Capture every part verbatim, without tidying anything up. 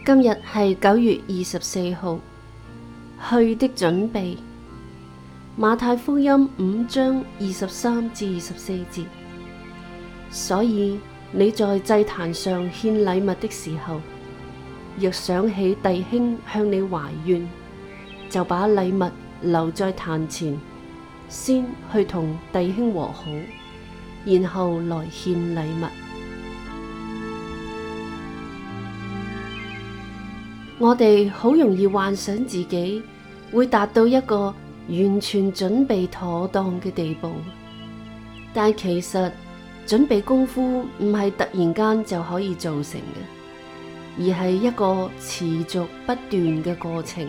今日係九月二十四號，去的準備。馬太福音五章二十三至二十四節。所以你在祭壇上獻禮物的時候，若想起弟兄向你懷怨，就把禮物留在壇前，先去同弟兄和好，然後來獻禮物。我哋好容易幻想自己會達到一個完全準備妥當嘅地步，但其實準備功夫唔係突然間就可以做成嘅，而係一個持續不斷嘅過程。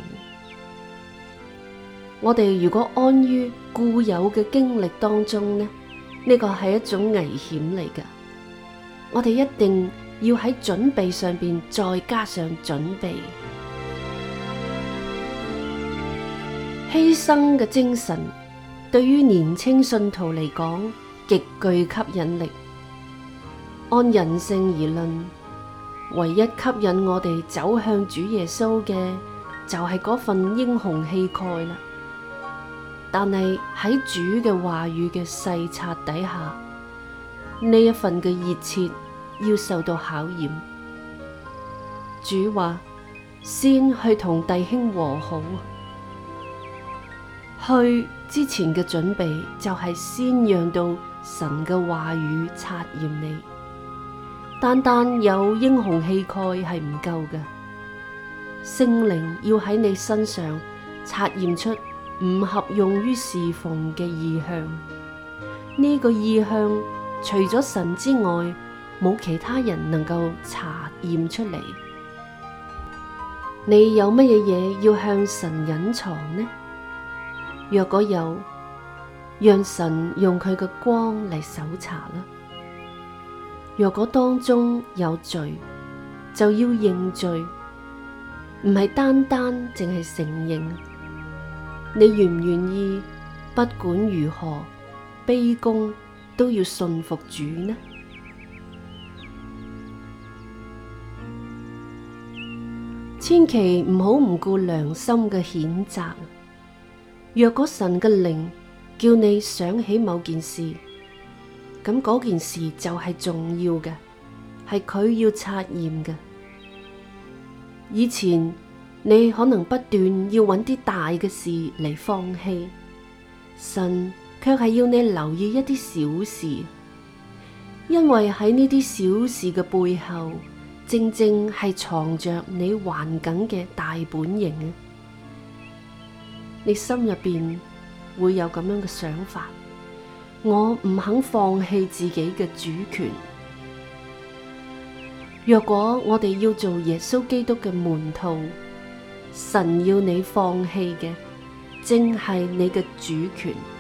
我哋如果安於固有嘅經歷當中呢，呢個係一種危險嚟㗎。我哋一定要喺準備上邊再加上準備。犧牲嘅精神對於年輕信徒嚟講極具吸引力。按人性而論，唯一吸引我哋走向主耶穌嘅就係嗰份英雄氣概啦。但係喺主嘅話語嘅細察底下，呢一份嘅熱切要受到考驗。主話：先去同弟兄和好。去之前嘅準備就係先讓到神嘅話語察驗你。單單有英雄氣概係唔夠嘅，聖靈要喺你身上察驗出唔合用於侍奉嘅意向。呢、這個意向除咗神之外，冇其他人能夠查驗出嚟。你有乜嘢嘢要向神隱藏呢？若果有，讓神用佢嘅光嚟搜查啦。若果當中有罪，就要認罪，唔係單單淨係承認。你願唔願意不管如何卑躬都要順服主呢？千祈唔好唔顧良心嘅譴責。若果神嘅靈叫你想起某件事，咁嗰件事就係重要嘅，係佢要察驗嘅。以前你可能不斷要揾啲大嘅事嚟放棄，神卻係要你留意一啲小事，因為喺呢啲小事嘅背後，正正係藏着你頑梗嘅大本營啊！你心入邊會有咁樣嘅想法，我唔肯放棄自己嘅主權。若果我哋要做耶穌基督嘅門徒，神要你放棄嘅，正係你嘅主權。